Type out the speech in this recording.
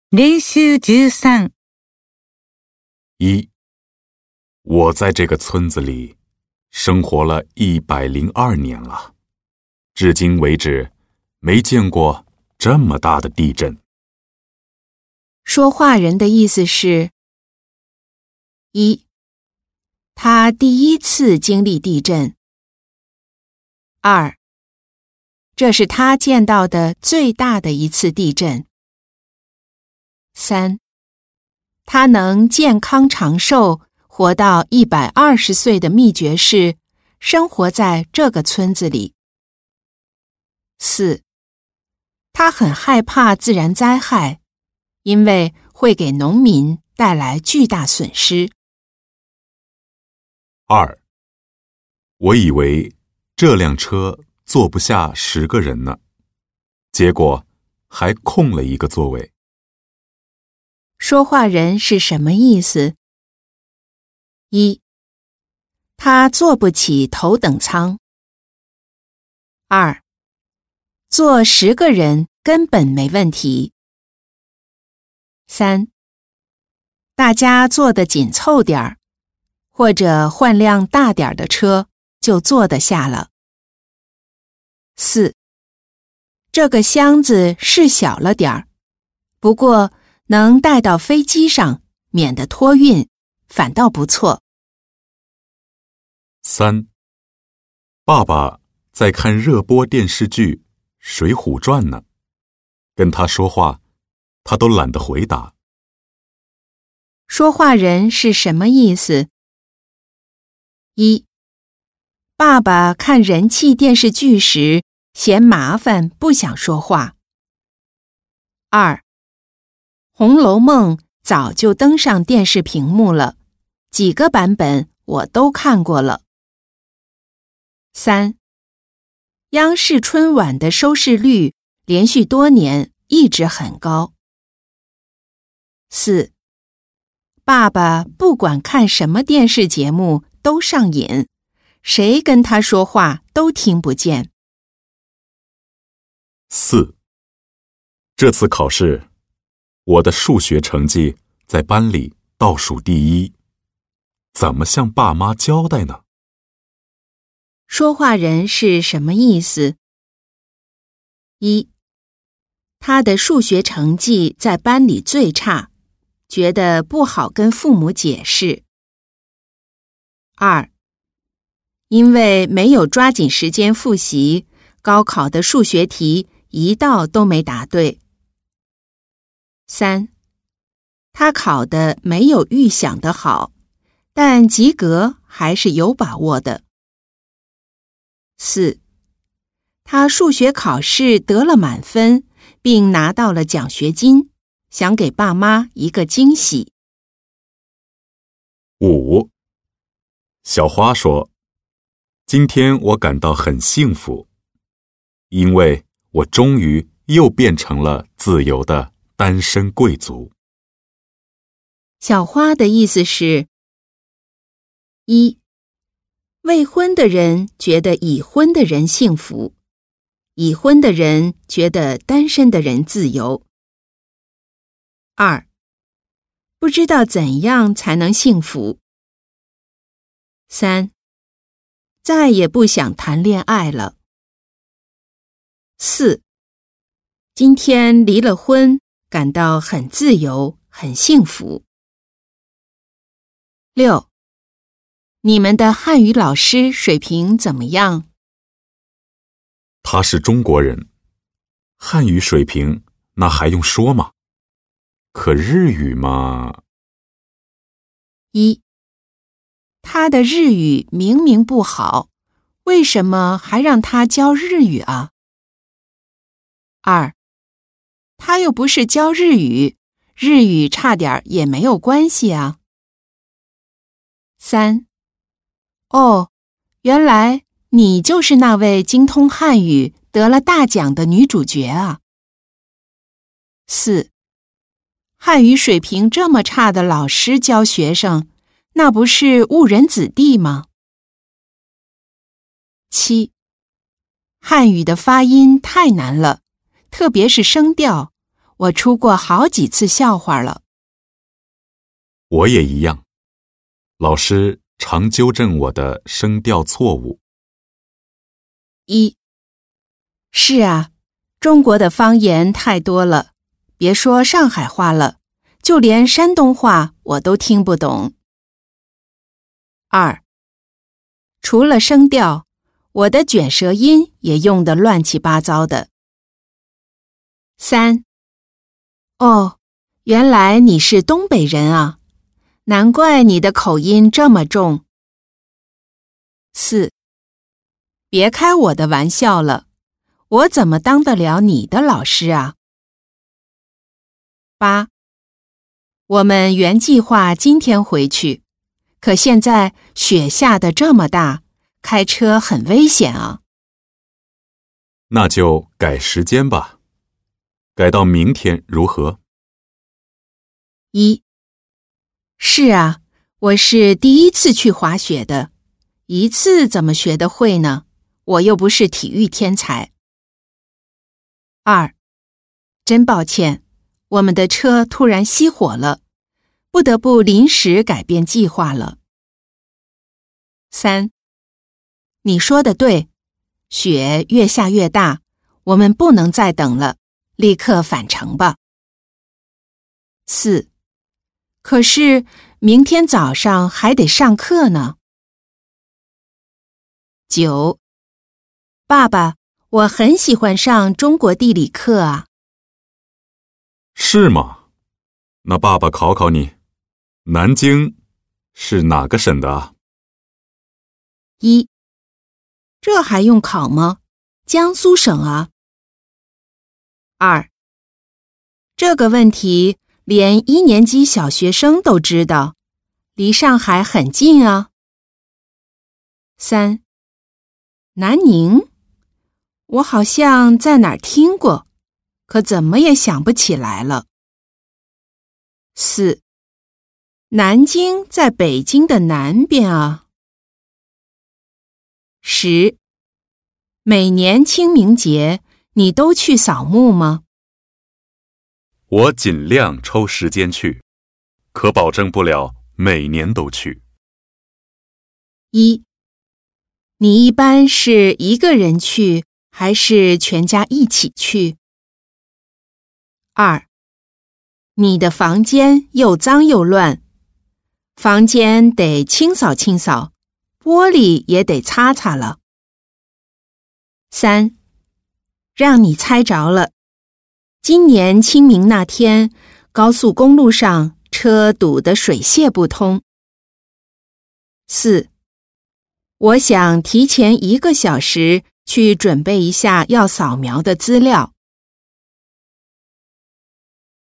練習13。 1. 我在这个村子里生活了102年了，至今为止没见过这么大的地震。 说话人的意思是：一，他第一次经历地震；二，这是他见到的最大的一次地震；三，他能健康长寿，活到120岁的秘诀是生活在这个村子里；四，他很害怕自然灾害，因为会给农民带来巨大损失。 2. 我以为这辆车坐不下10个人呢，结果还空了一个座位。 说话人是什么意思？一，他坐不起头等舱；二，坐10个人根本没问题；三，大家坐得紧凑点儿，或者换辆大点儿的车就坐得下了；四，这个箱子是小了点儿，不过能带到飞机上，免得托运，反倒不错。 3. 爸爸在看热播电视剧《水浒传》呢，跟他说话，他都懒得回答。 说话人是什么意思？一，爸爸看人气电视剧时嫌麻烦，不想说话。二，《红楼梦》早就登上电视屏幕了，几个版本我都看过了。三，央视春晚的收视率连续多年一直很高。四，爸爸不管看什么电视节目都上瘾，谁跟他说话都听不见。 4. 这次考试我的数学成绩在班里倒数第一，怎么向爸妈交代呢？ 说话人是什么意思？一，他的数学成绩在班里最差，觉得不好跟父母解释。二，因为没有抓紧时间复习，高考的数学题一道都没答对。三，他考的没有预想的好，但及格还是有把握的。四，他数学考试得了满分，并拿到了奖学金，想给爸妈一个惊喜。 5. 小花说，今天我感到很幸福，因为我终于又变成了自由的单身贵族。 小花的意思是：一，未婚的人觉得已婚的人幸福，已婚的人觉得单身的人自由。二，不知道怎样才能幸福。三，再也不想谈恋爱了。四，今天离了婚，感到很自由，很幸福。6. 你们的汉语老师水平怎么样？ 他是中国人，汉语水平那还用说吗？可日语嘛。 一，他的日语明明不好，为什么还让他教日语啊？二，他又不是教日语，日语差点也没有关系啊。三，哦，原来你就是那位精通汉语得了大奖的女主角啊。四，汉语水平这么差的老师教学生，那不是误人子弟吗？七，汉语的发音太难了，特别是声调， 我出过好几次笑话了。 我也一样，老师常纠正我的声调错误。 一，是啊，中国的方言太多了，别说上海话了，就连山东话我都听不懂。二，除了声调，我的卷舌音也用得乱七八糟的。三，哦，原来你是东北人啊，难怪你的口音这么重。四，别开我的玩笑了，我怎么当得了你的老师啊？八，我们原计划今天回去，可现在雪下得这么大，开车很危险啊。 那就改时间吧，改到明天如何？ 一，是啊，我是第一次去滑雪的，一次怎么学得会呢？我又不是体育天才。二，真抱歉，我们的车突然熄火了，不得不临时改变计划了。三，你说的对，雪越下越大，我们不能再等了，立刻返程吧。四，可是明天早上还得上课呢。九，爸爸，我很喜欢上中国地理课啊。 是吗？那爸爸考考你，南京是哪个省的啊？ 一，这还用考吗？江苏省啊。二，这个问题连1年级小学生都知道，离上海很近啊。三，南宁，我好像在哪儿听过，可怎么也想不起来了。四，南京在北京的南边啊。10，每年清明节你都去扫墓吗？ 我尽量抽时间去，可保证不了每年都去。 一，你一般是一个人去，还是全家一起去？二，你的房间又脏又乱，房间得清扫清扫，玻璃也得擦擦了。三，让你猜着了，今年清明那天，高速公路上车堵得水泄不通。四，我想提前1个小时去准备一下要扫描的资料。